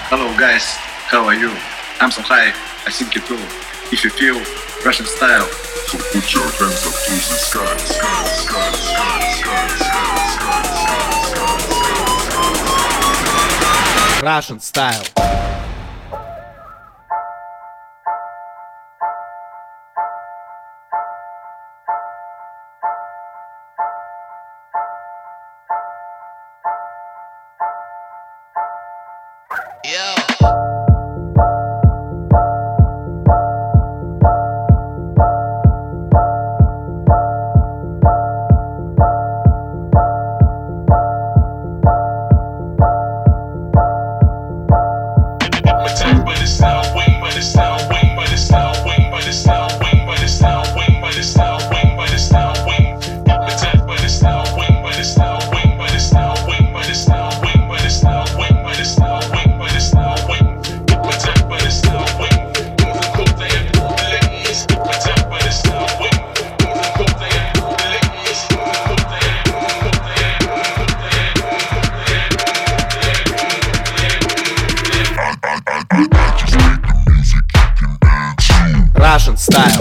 Hello guys, how are you? I'm so high, I think you too. If you feel Russian style, so put your hands up to the sky, sky, sky, sky, sky, sky, sky, sky, sky. Russian style. Russian style.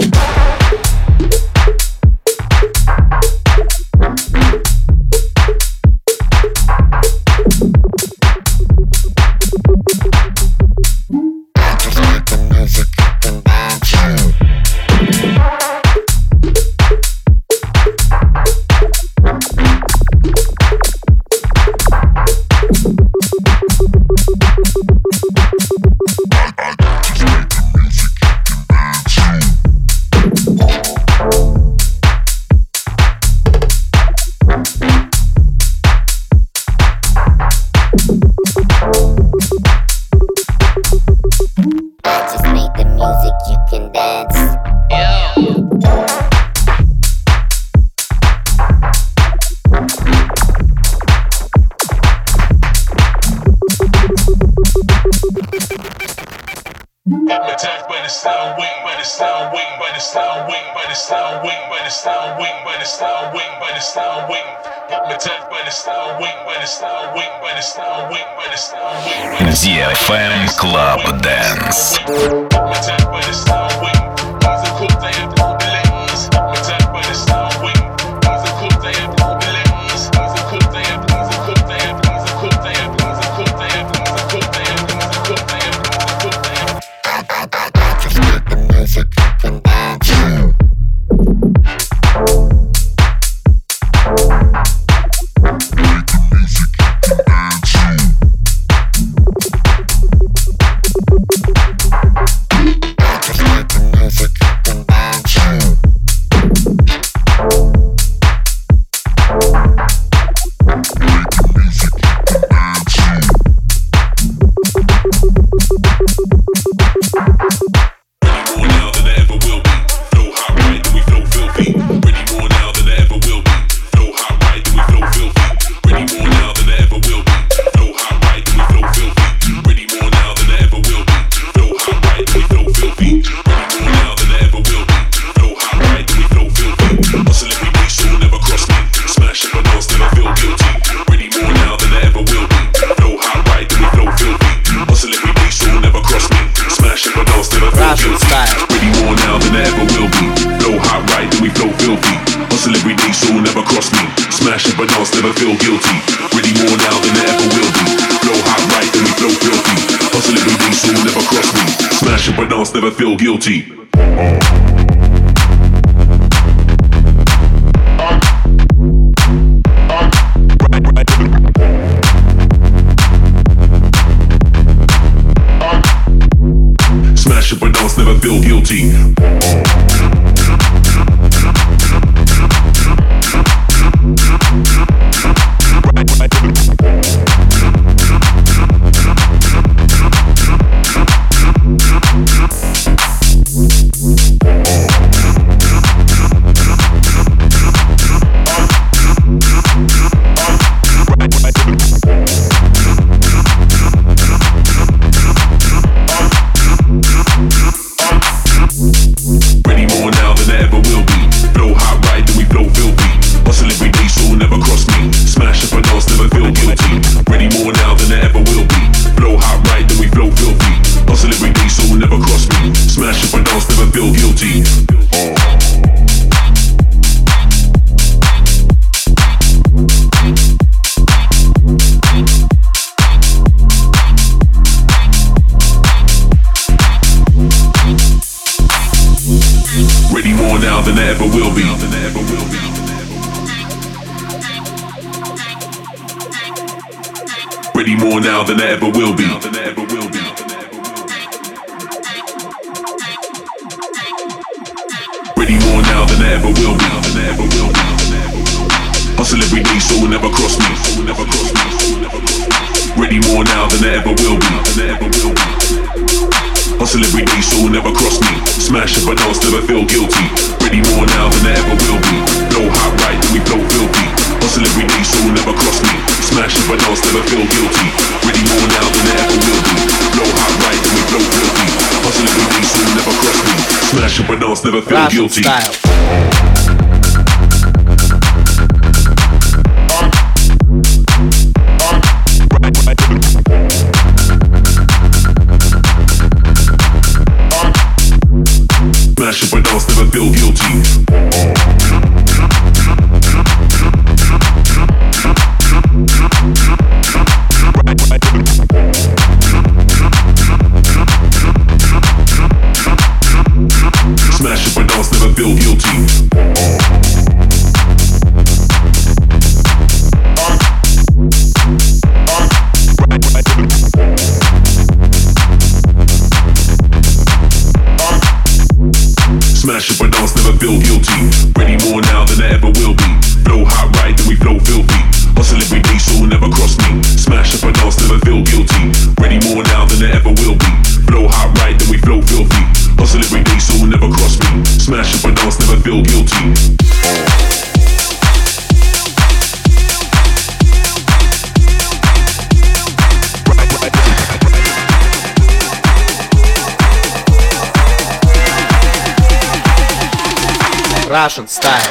DFM Club Dance. Never feel guilty. Smash it but dance, never feel guilty. Ready be. Ready more now than I ever will be. Ready more now than I ever will be. Hustle every day so will never cross me. Ready more now than I ever will be. Hustle every day so will never cross me. Smash up and I'll never feel guilty. Ready more now than I ever will be. Blow hot right then we blow filthy. Hustle every day so will never cross me. Smash up and I'll never feel guilty. Ready more now than I ever will be. Blow hot right then we blow filthy. Hustle every day so will never cross me. Smash up and I'll never feel guilty. Smash up and I'll never feel guilty. Smash up and I'll never feel guilty. Smash up and I'll never feel guilty. Ready more now than I ever will be. Blow hot right then we flow filthy. Hustle every day so will never cross me. Smash up and I'll never feel guilty. Ready more now than I ever will be. Blow hot right then we flow filthy. Hustle every day so will never cross me. Smash up and I'll never feel guilty. Russian style.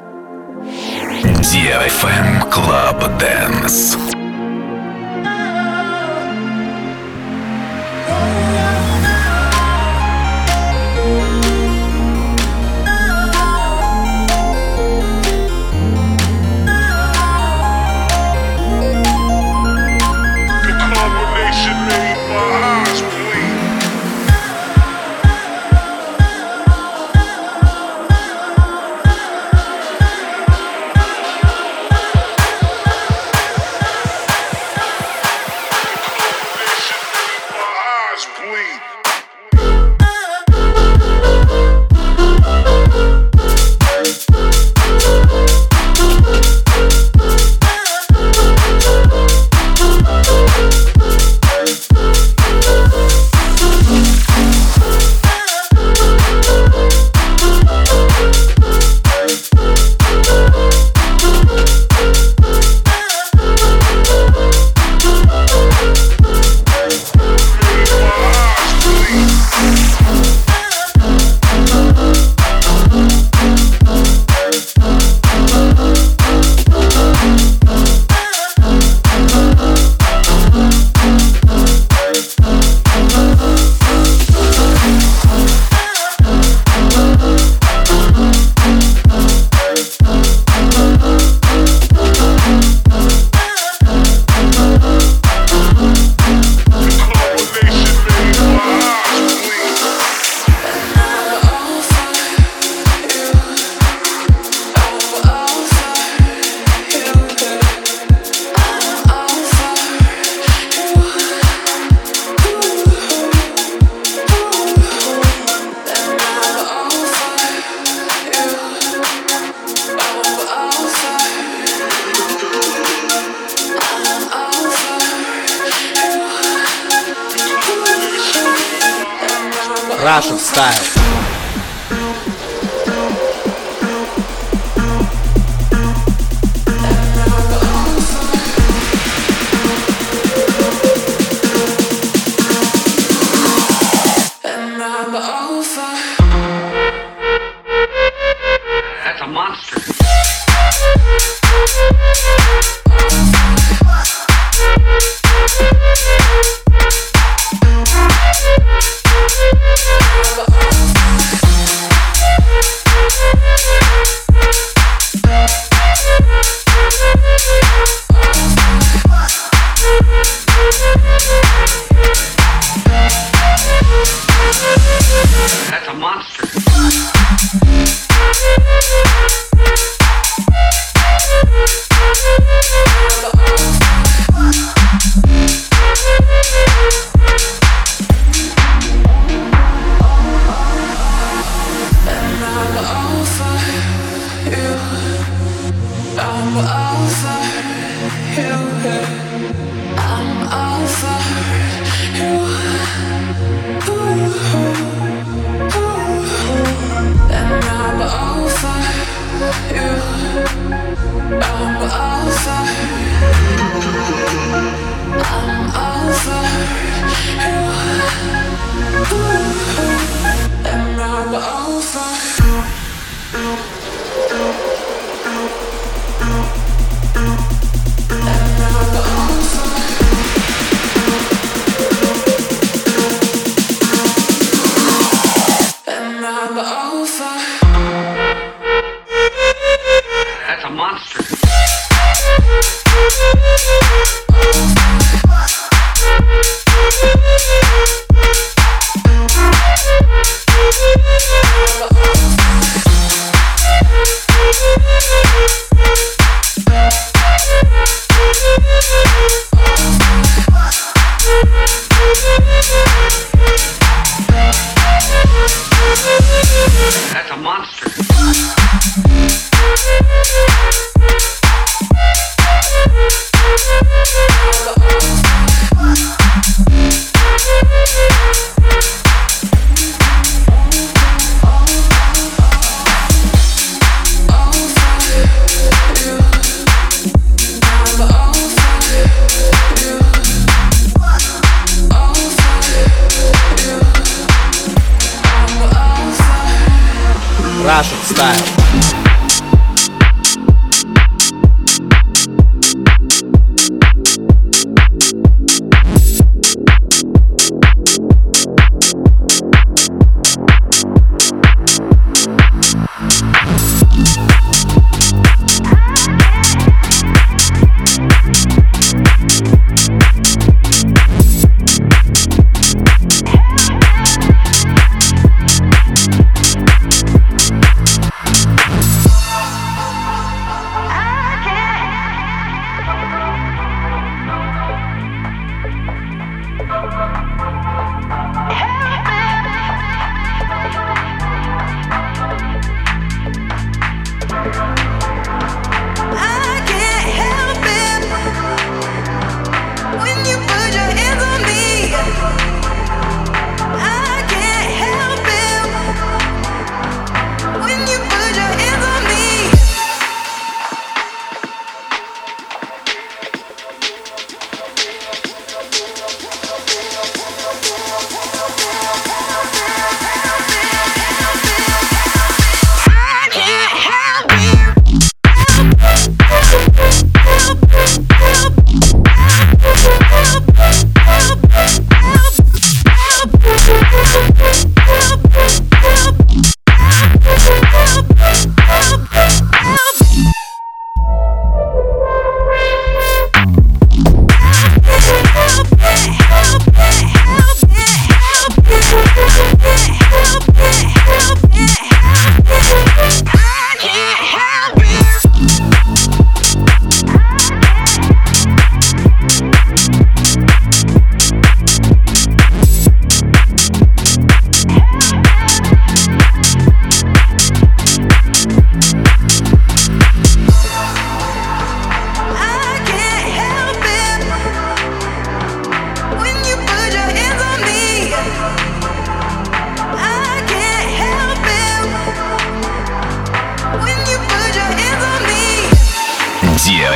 DFM Club Dance. Russian style. That's a monster. That's a monster. That's a monster. That's a monster. Russian style.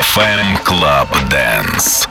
FM Club Dance.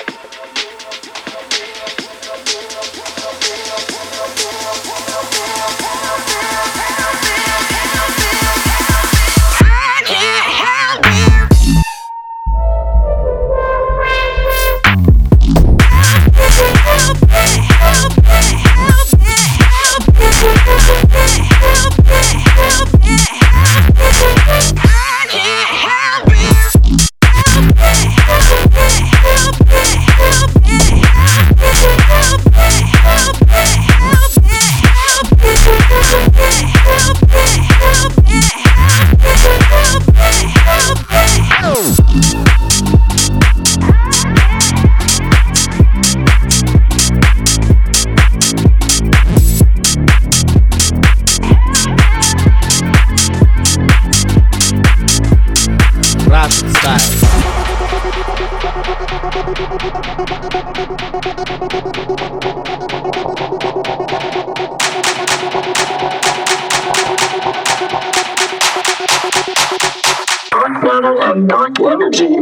Russian style. Dark matter and dark energy.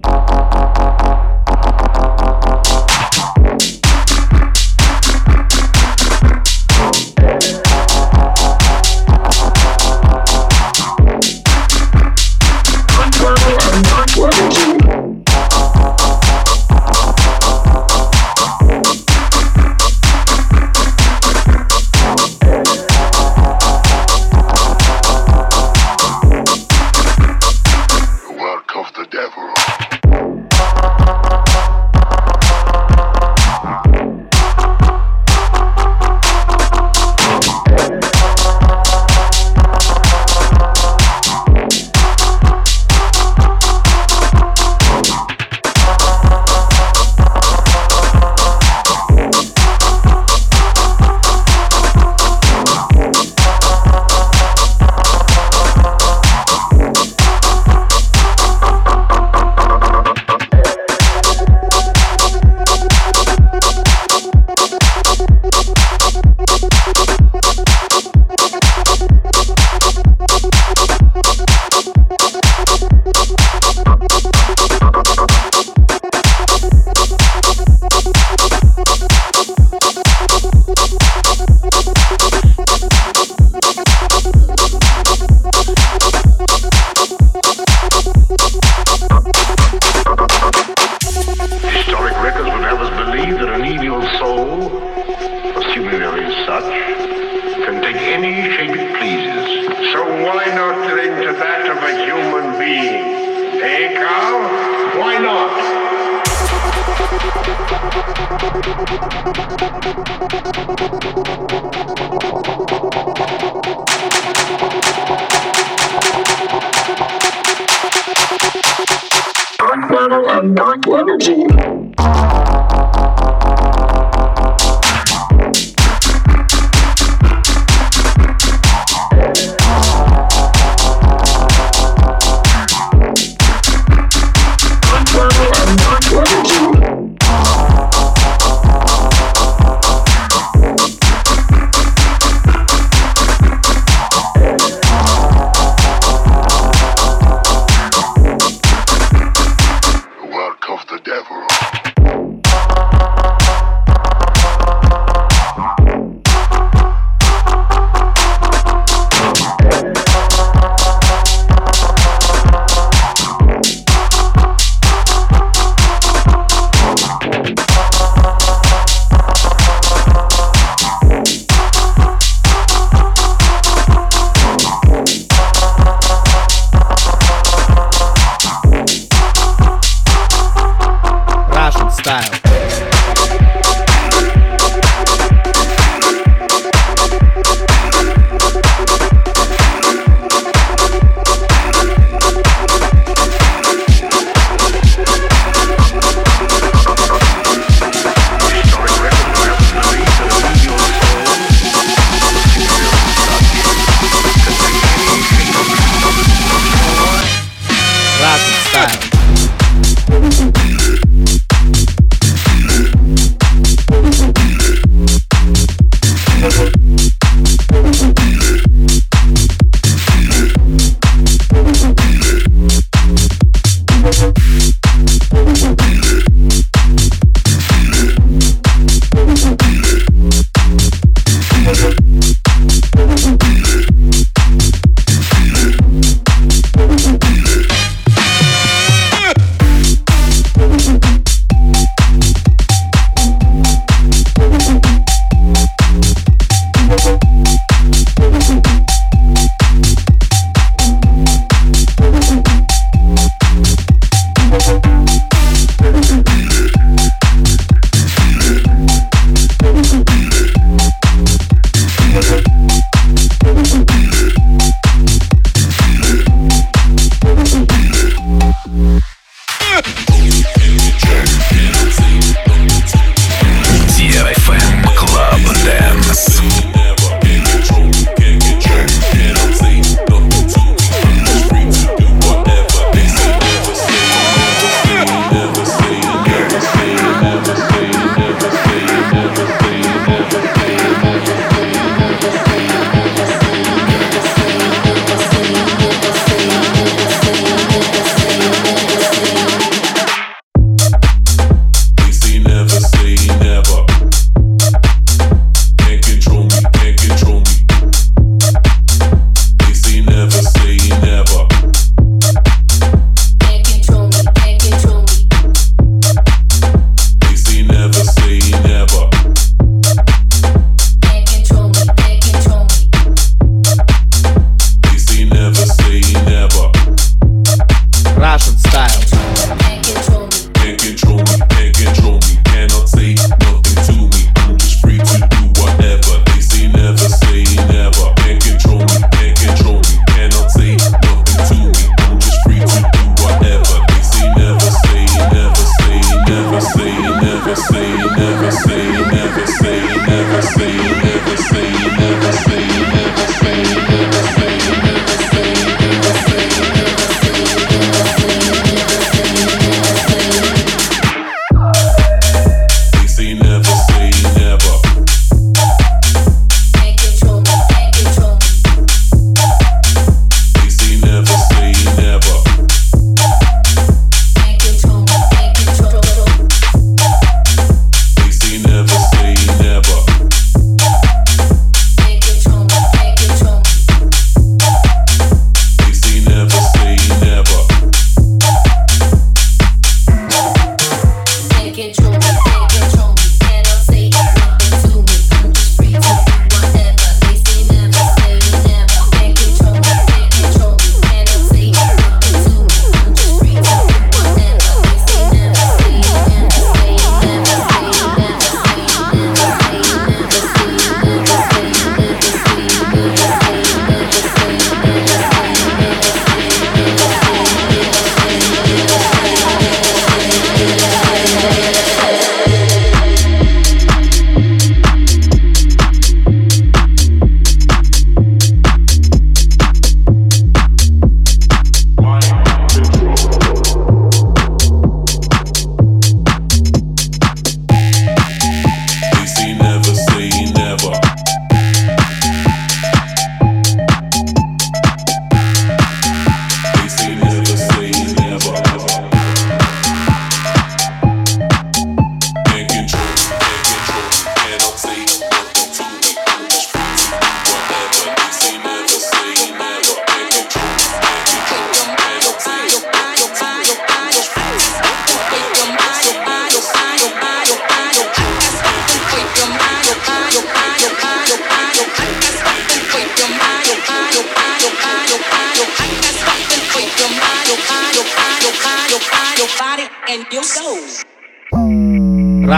Dark matter and dark energy. Work of the devil.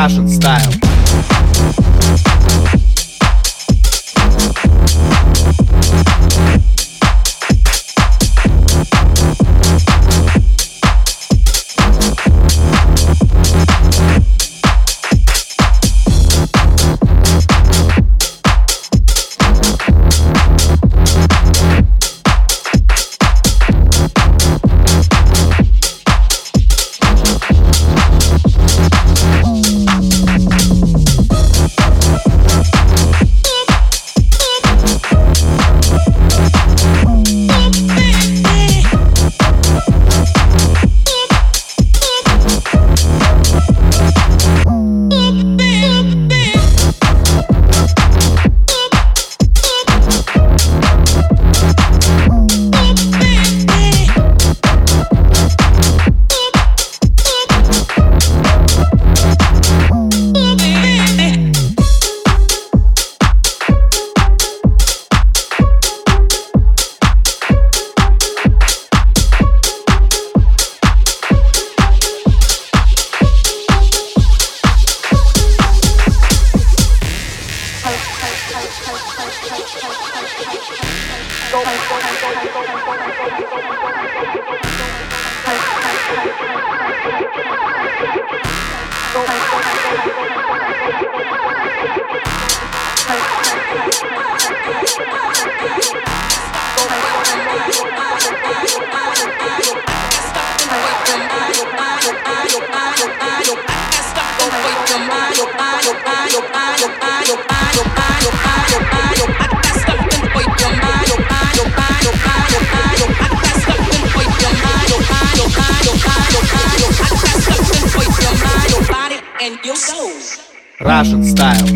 Russian style. Russian style.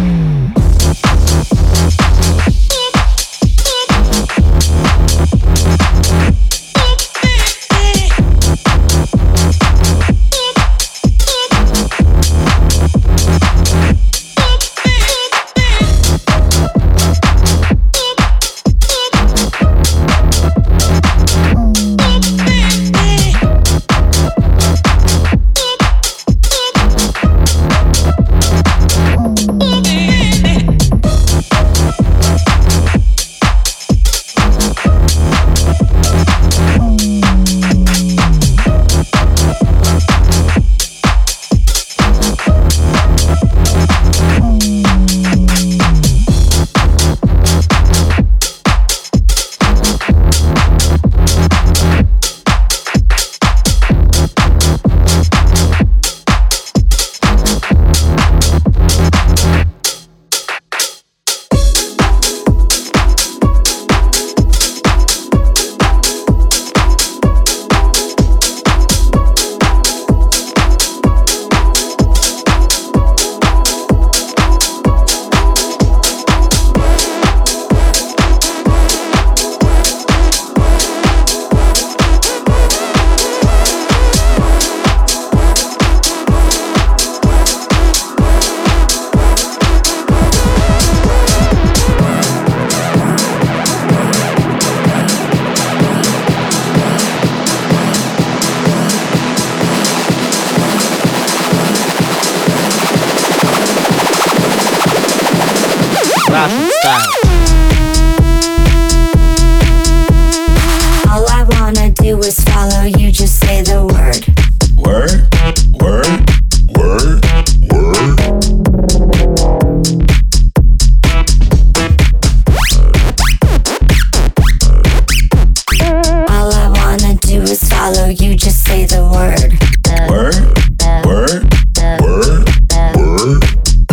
Russian style. All I wanna do is follow you, just say the word. Word, word, word, word. All I wanna do is follow you, just say the word. Word, word, word, word.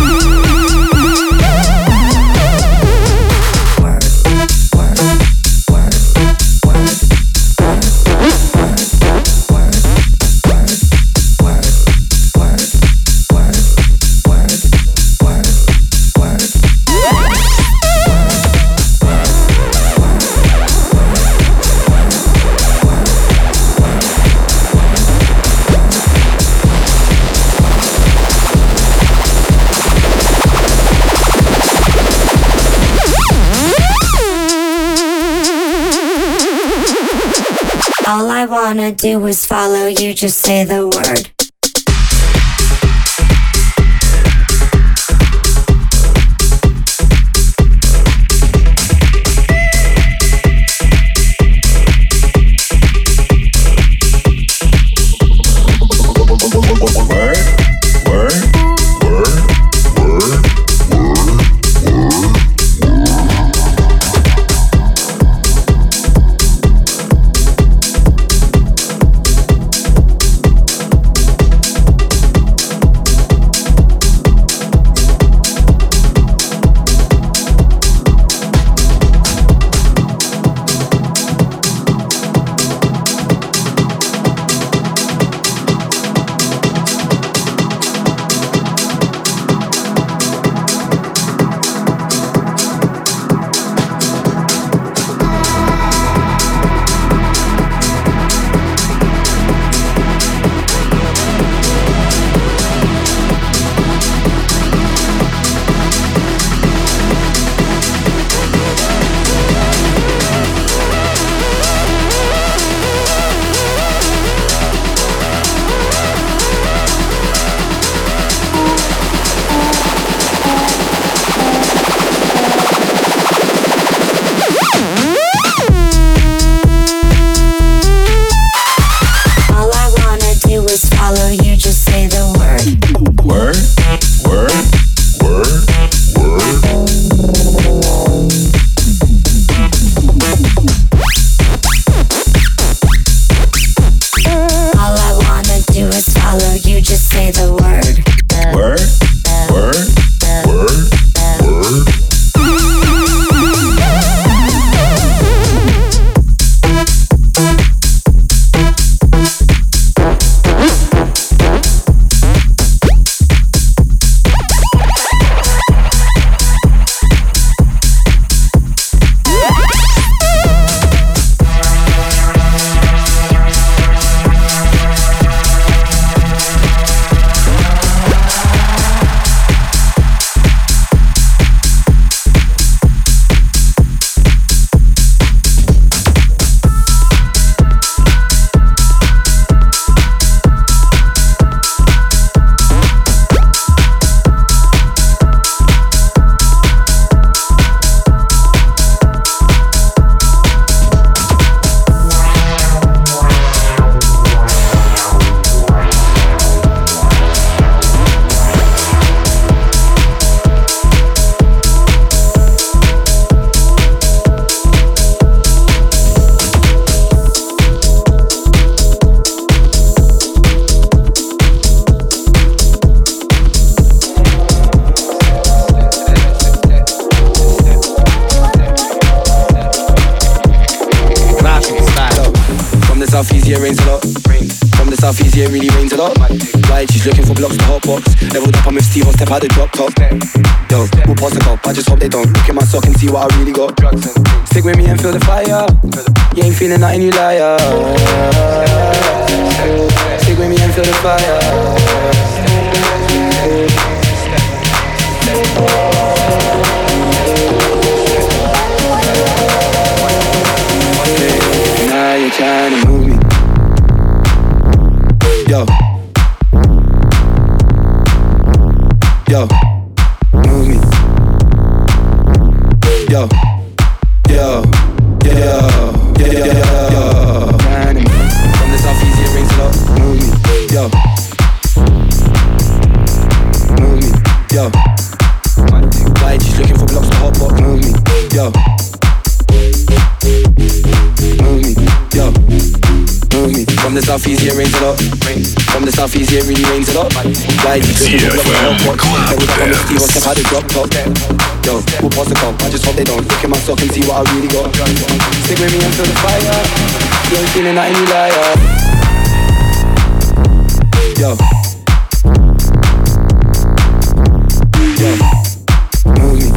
All I wanna do is follow you, just say the word. yeah, rains a lot. From the southeast, yeah, it really rains a lot. Right, she's looking for blocks to hot box. Leveled up, I'm with Steve, I'll step out the drop top. Yo, we'll pass the cup, I just hope they don't look at my sock and see what I really got. Stick with me and feel the fire. You ain't feeling nothing, you liar. Stick with me and feel the fire. Now you're trying to move me. Yo. Yo. Move me. Yo. Yo. Yo. Yo. Yo. Trying to move. From the southeast, it rings a lot. Move me. Yo. Move me. Yo. Like she's looking for blocks to hot box. Move me. Yo. Move me, yo, move me. From the southeast, yeah, rains a lot. From the southeast, yeah, it really rains a lot. Like you could look at the hot box. Every time I'm with Steve, I'll step out the drop top. Yo, we'll pass the cup, I just hope they don't look at my sock and see what I really got. Stick with me and feel the fire. You ain't feeling nothing, you liar. Yo. Yo. Move me.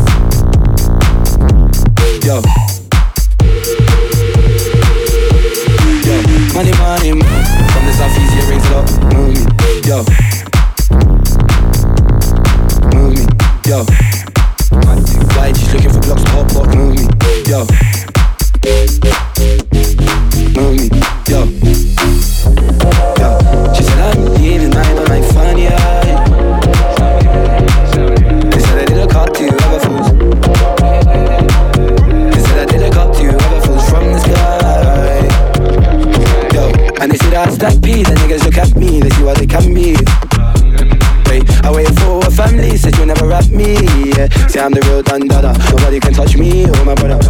Yo. Money, money, from the southeast, yeah, rings a lot. Move me, yo. Move me, yo. Like she's looking for blocks to hot box. Move me, yo. Move me, yo. Yo. She said I'm leaving, I'm like funny eye. They said I did a cop to you, other fools. They said I did a cop to you, other fools from the sky. And they say that I stack peas, and niggas look at me, they see what they can be. Wait, I waited for a family, said you'll never rap me, yeah. Say I'm the real Dundada, nobody can touch me, oh my brother.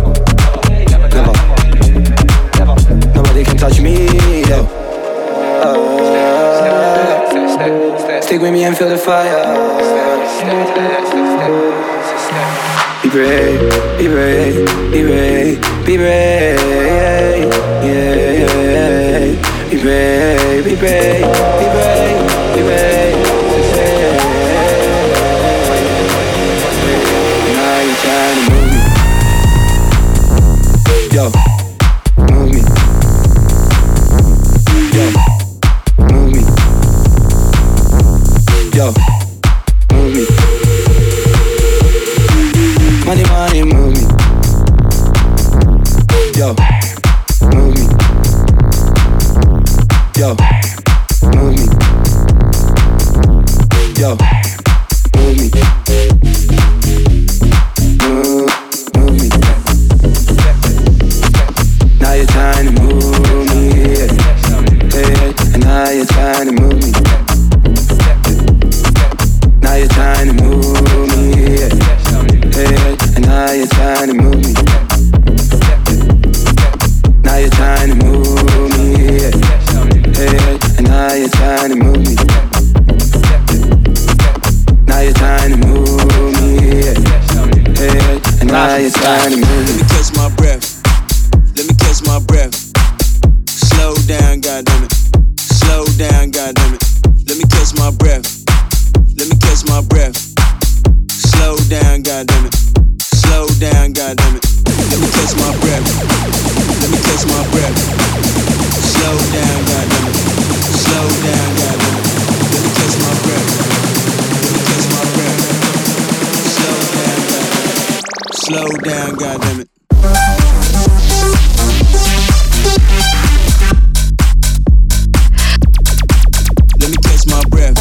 Never, nobody can touch me, yo. Stick with me and feel the fire. Be brave, be brave, be brave, be brave, yeah. Be brave, be brave, be brave, be brave. Now you're trying to move me. Yo, move me. Yo, move me. Yo, move me. Money, money, move me. Yo, move me. Yo, move me. Yo, move me. Move me. Now you're trying to move me, yeah. And now you're trying to move me. Now you're trying to move me, yeah. And now you're trying to move me. Now you're trying to move me, yeah. And now you're trying to move me. Now you're trying to move me, yeah. And now you're trying to move me. Let me catch my breath. Let me catch my breath. Slow down, goddammit. Slow down, goddammit. Let me catch my breath. Let me catch my breath. Slow down, goddammit. Slow down, goddammit. Let me catch my breath. Let me catch my breath. Slow down, goddammit. Slow down, goddammit. Let me catch my breath. Let me catch my breath. Slow down, goddammit. Slow down, goddammit. Let me catch my breath.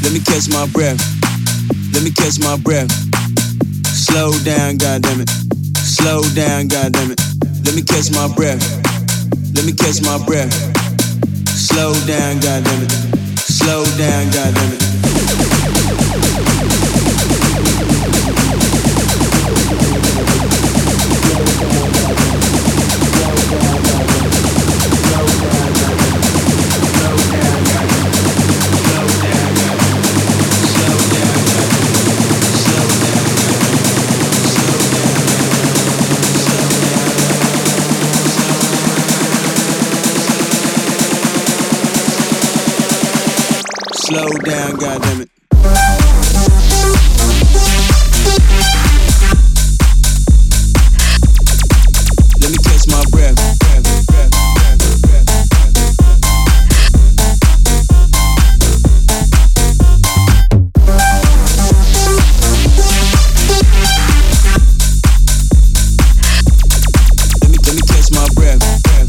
Let me catch my breath. Let me catch my breath. Slow down, goddammit. Slow down, goddammit. Let me catch my breath. Let me catch my breath. Slow down, goddammit. Slow down, goddammit. Slow down, goddammit. Let me catch my breath. Let me catch my breath.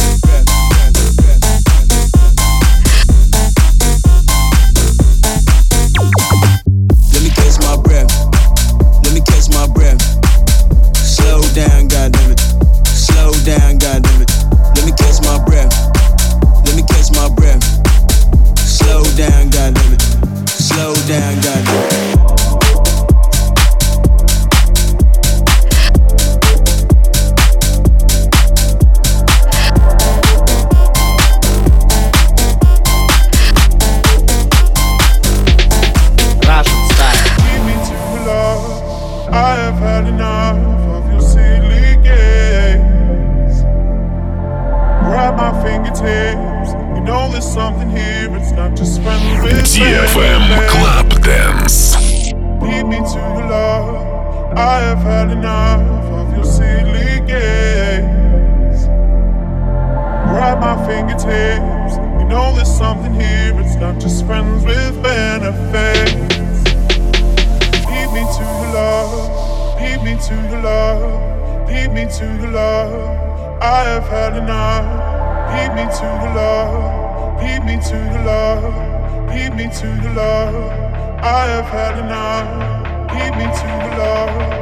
DFM Club Dance. Lead me to your love. I have had enough of your silly games. Grab my fingertips. You know there's something here. It's not just friends with benefits. Lead me to your love. Lead me to your love. Lead me to your love. I have had enough. Lead me to your love. Lead me to your love. Lead me to your love. I have had enough. Lead me to your love.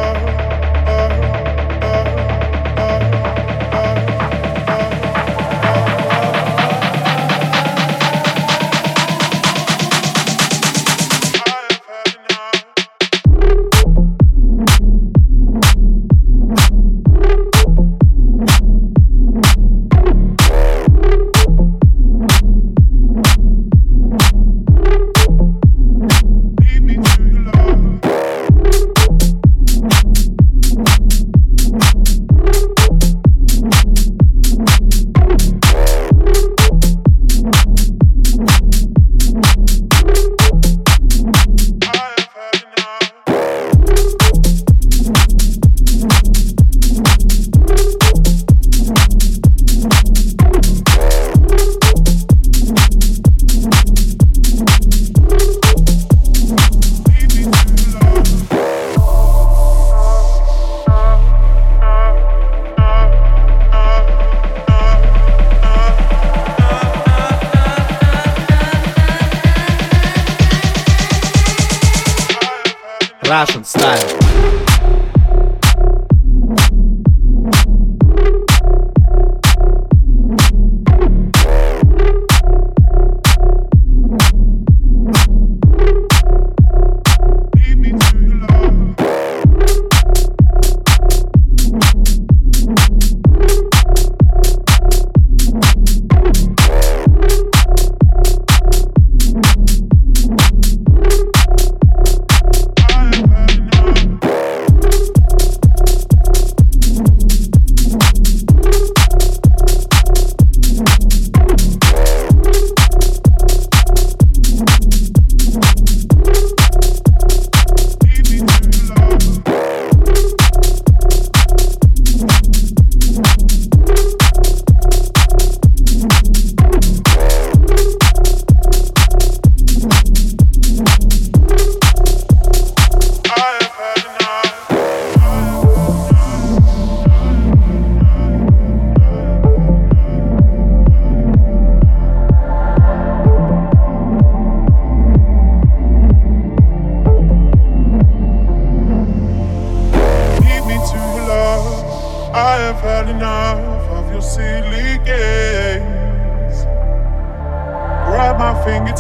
Russian style.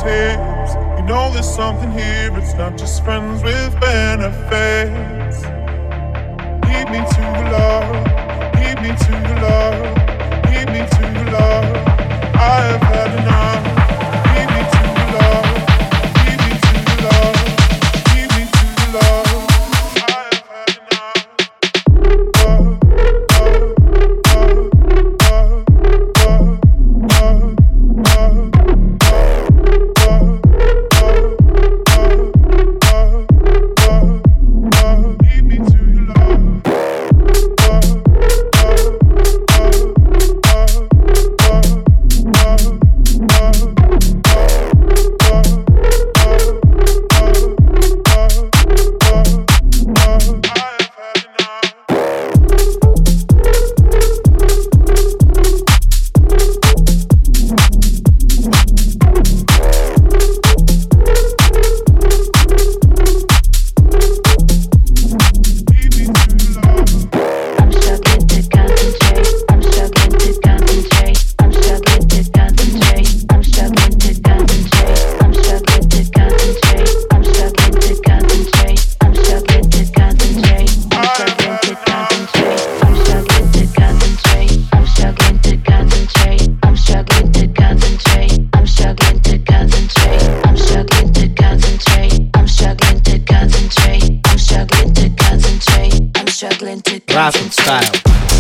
fingertips. You know there's something here, it's not just friends with benefits. Lead me to the love, lead me to the love, lead me to the love. I have had enough. Lead me to the love, lead me to the love, lead me to the love. I have had enough. Russian style.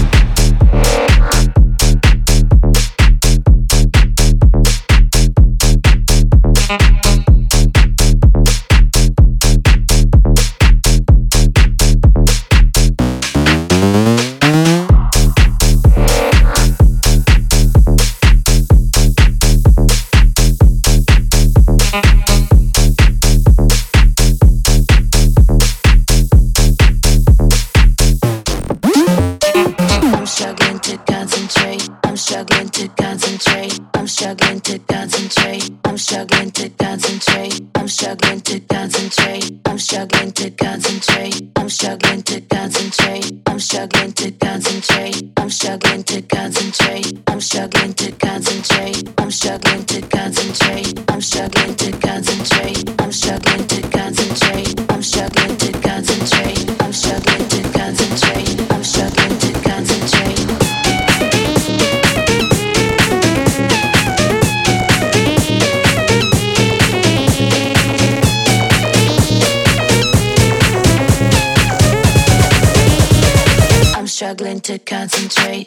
Struggling to concentrate.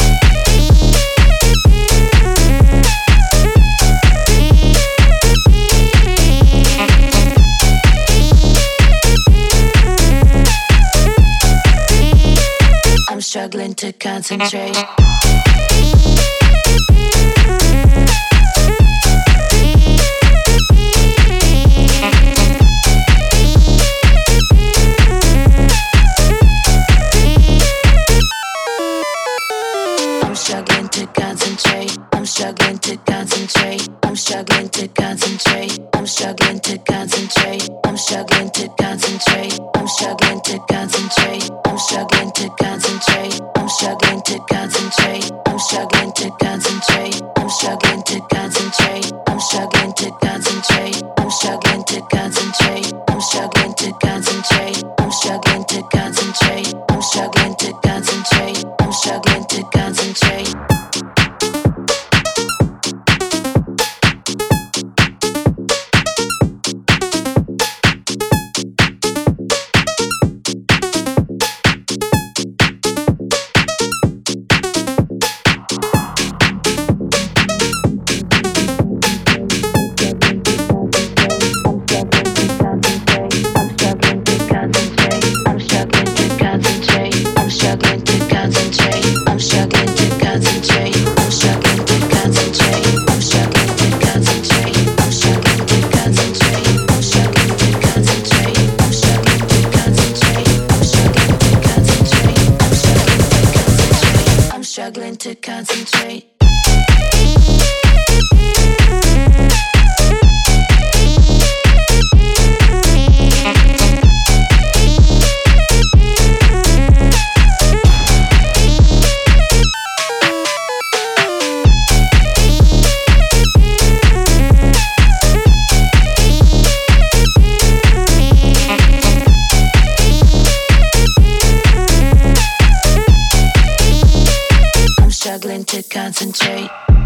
I'm struggling to concentrate. I'm struggling to concentrate. I'm struggling to concentrate. I'm struggling to concentrate. I'm struggling to concentrate. I'm struggling to concentrate. I'm struggling to concentrate. I'm struggling to concentrate. I'm struggling to concentrate. I'm struggling to concentrate. I'm struggling to concentrate. I'm struggling to concentrate. I'm struggling to concentrate. I'm struggling to concentrate. I'm struggling to concentrate. I'm struggling to concentrate. I'm struggling to concentrate. Struggling to concentrate. to concentrate.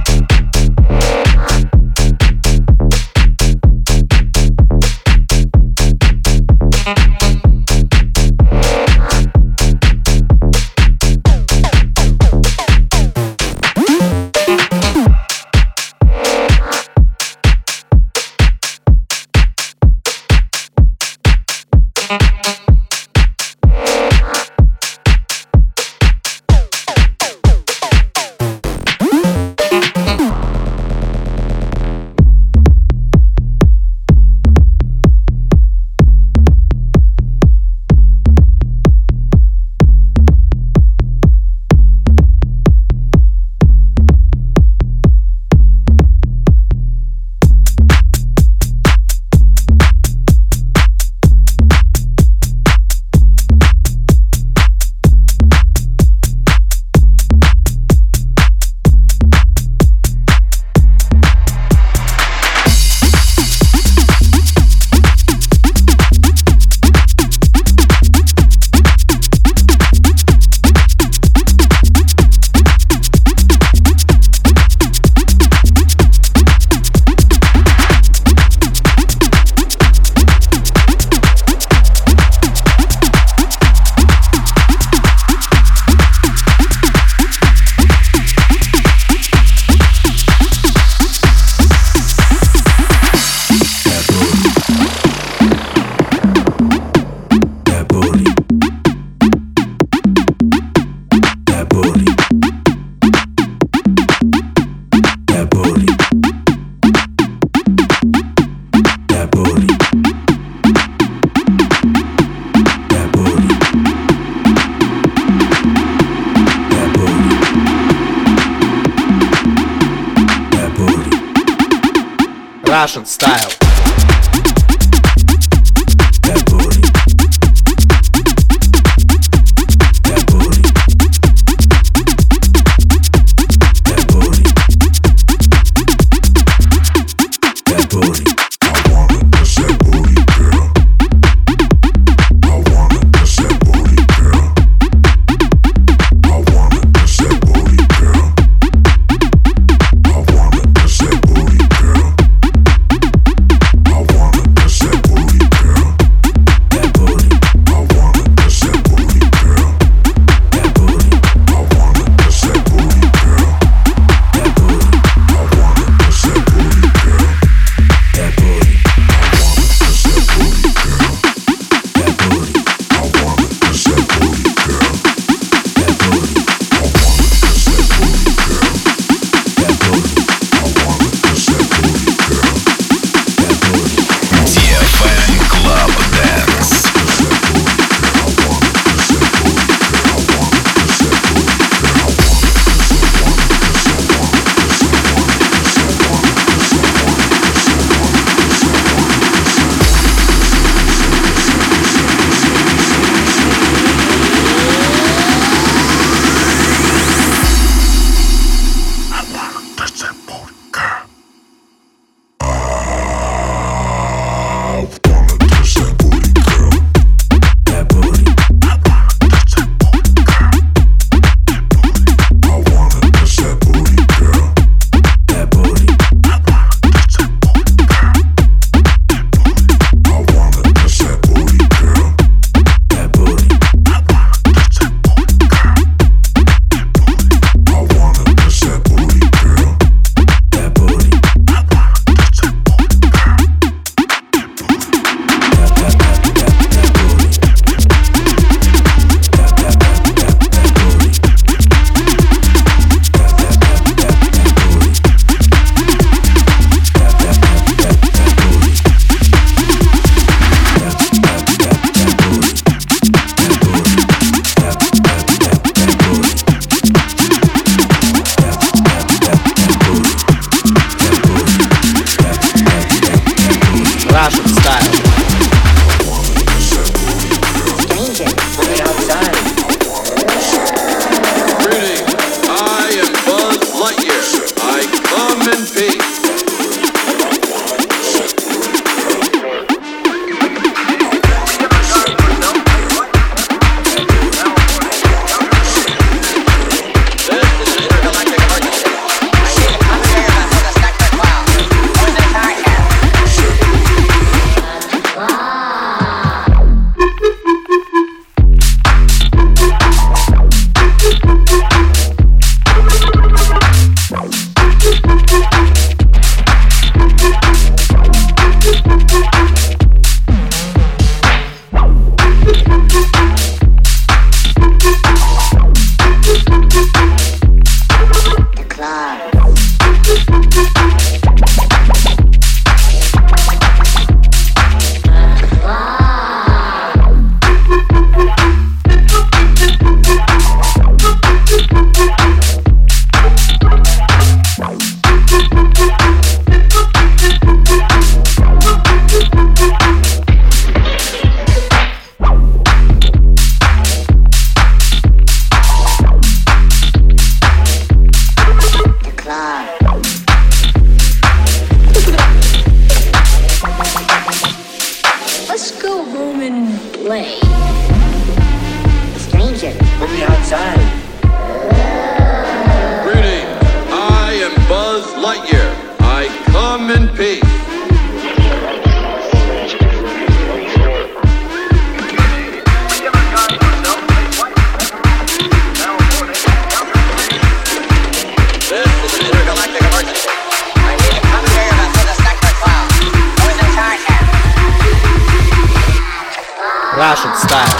Russian style. Let's go home and play. Stranger from the outside. Greetings, I am Buzz Lightyear. I come in peace. This is an intergalactic emergency. I need a commandeer vessel to Sector 12. Who's in charge here? Russian style.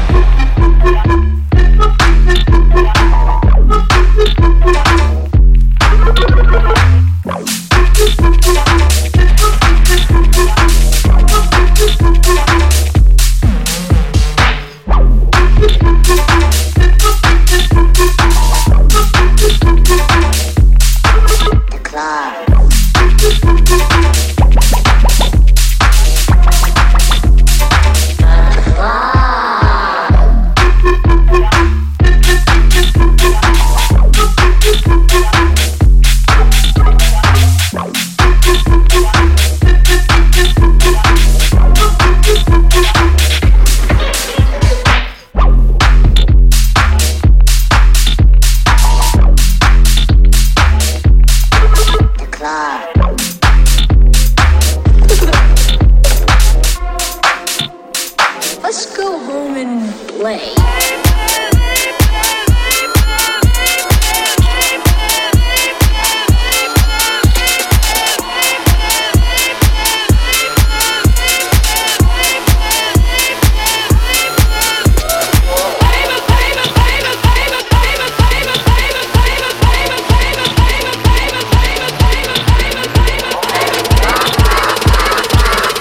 Let's go home and play.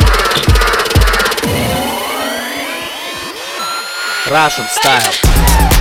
Russian style.